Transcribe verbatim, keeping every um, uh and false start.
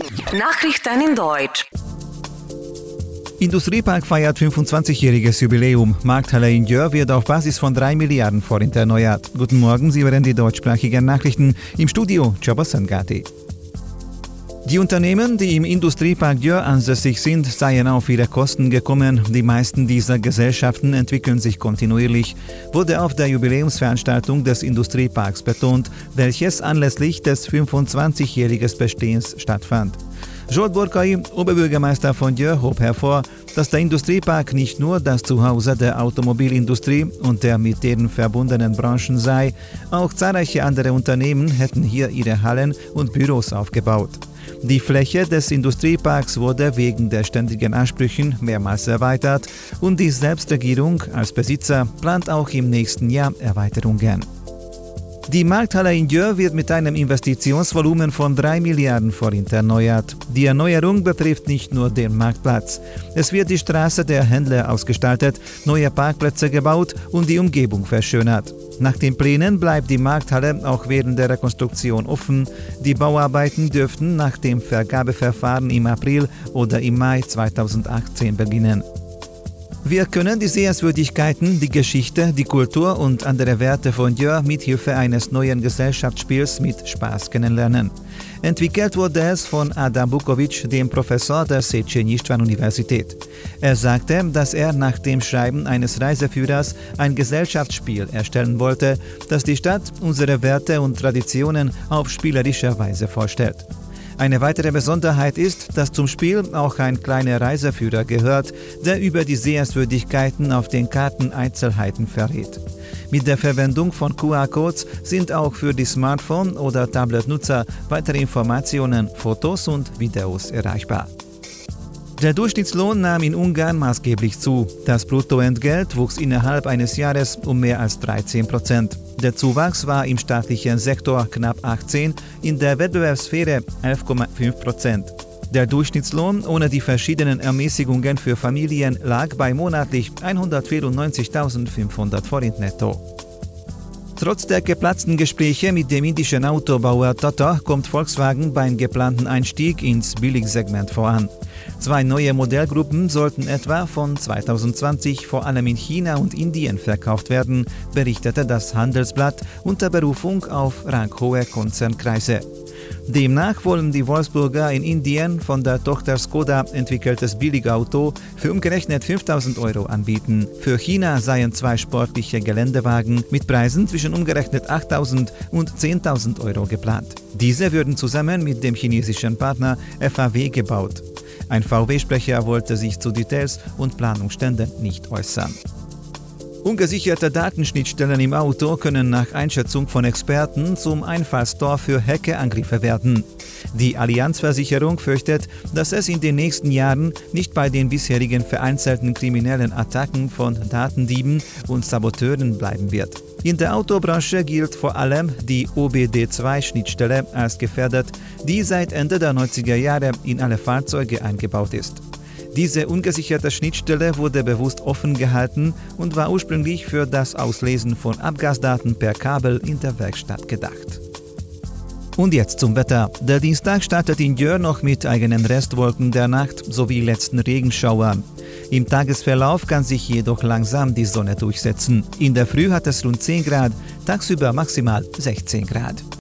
Nachrichten in Deutsch. Industriepark feiert fünfundzwanzigjähriges Jubiläum. Markthalle in Győr wird auf Basis von drei Milliarden Forint erneuert. Guten Morgen, Sie hören die deutschsprachigen Nachrichten. Im Studio Csaba Szentgáti. Die Unternehmen, die im Industriepark Győr ansässig sind, seien auf ihre Kosten gekommen. Die meisten dieser Gesellschaften entwickeln sich kontinuierlich, wurde auf der Jubiläumsveranstaltung des Industrieparks betont, welches anlässlich des fünfundzwanzigjährigen Bestehens stattfand. Zsolt Borkai, Oberbürgermeister von Győr, hob hervor, dass der Industriepark nicht nur das Zuhause der Automobilindustrie und der mit denen verbundenen Branchen sei, auch zahlreiche andere Unternehmen hätten hier ihre Hallen und Büros aufgebaut. Die Fläche des Industrieparks wurde wegen der ständigen Ansprüchen mehrmals erweitert und die Selbstregierung als Besitzer plant auch im nächsten Jahr Erweiterungen. Die Markthalle in Győr wird mit einem Investitionsvolumen von drei Milliarden Forint erneuert. Die Erneuerung betrifft nicht nur den Marktplatz. Es wird die Straße der Händler ausgestaltet, neue Parkplätze gebaut und die Umgebung verschönert. Nach den Plänen bleibt die Markthalle auch während der Rekonstruktion offen. Die Bauarbeiten dürften nach dem Vergabeverfahren im April oder im Mai zweitausendachtzehn beginnen. Wir können die Sehenswürdigkeiten, die Geschichte, die Kultur und andere Werte von Győr mithilfe eines neuen Gesellschaftsspiels mit Spaß kennenlernen. Entwickelt wurde es von Adam Bukovic, dem Professor der Széchenyi István Universität. Er sagte, dass er nach dem Schreiben eines Reiseführers ein Gesellschaftsspiel erstellen wollte, das die Stadt, unsere Werte und Traditionen auf spielerische Weise vorstellt. Eine weitere Besonderheit ist, dass zum Spiel auch ein kleiner Reiseführer gehört, der über die Sehenswürdigkeiten auf den Karten Einzelheiten verrät. Mit der Verwendung von Q R-Codes sind auch für die Smartphone- oder Tablet-Nutzer weitere Informationen, Fotos und Videos erreichbar. Der Durchschnittslohn nahm in Ungarn maßgeblich zu. Das Bruttoentgelt wuchs innerhalb eines Jahres um mehr als dreizehn Prozent. Der Zuwachs war im staatlichen Sektor knapp achtzehn, in der Wettbewerbssphäre elf Komma fünf Prozent. Der Durchschnittslohn ohne die verschiedenen Ermäßigungen für Familien lag bei monatlich hundertvierundneunzigtausendfünfhundert Forint netto. Trotz der geplatzten Gespräche mit dem indischen Autobauer Tata kommt Volkswagen beim geplanten Einstieg ins Billigsegment voran. Zwei neue Modellgruppen sollten etwa von zweitausendzwanzig vor allem in China und Indien verkauft werden, berichtete das Handelsblatt unter Berufung auf ranghohe Konzernkreise. Demnach wollen die Wolfsburger in Indien von der Tochter Skoda entwickeltes Billigauto für umgerechnet fünftausend Euro anbieten. Für China seien zwei sportliche Geländewagen mit Preisen zwischen umgerechnet achttausend und zehntausend Euro geplant. Diese würden zusammen mit dem chinesischen Partner F A W gebaut. Ein V W-Sprecher wollte sich zu Details und Planungsständen nicht äußern. Ungesicherte Datenschnittstellen im Auto können nach Einschätzung von Experten zum Einfallstor für Hackerangriffe werden. Die Allianz-Versicherung fürchtet, dass es in den nächsten Jahren nicht bei den bisherigen vereinzelten kriminellen Attacken von Datendieben und Saboteuren bleiben wird. In der Autobranche gilt vor allem die O B D zwei Schnittstelle als gefährdet, die seit Ende der neunziger Jahre in alle Fahrzeuge eingebaut ist. Diese ungesicherte Schnittstelle wurde bewusst offen gehalten und war ursprünglich für das Auslesen von Abgasdaten per Kabel in der Werkstatt gedacht. Und jetzt zum Wetter. Der Dienstag startet in Győr noch mit eigenen Restwolken der Nacht sowie letzten Regenschauern. Im Tagesverlauf kann sich jedoch langsam die Sonne durchsetzen. In der Früh hat es rund zehn Grad, tagsüber maximal sechzehn Grad.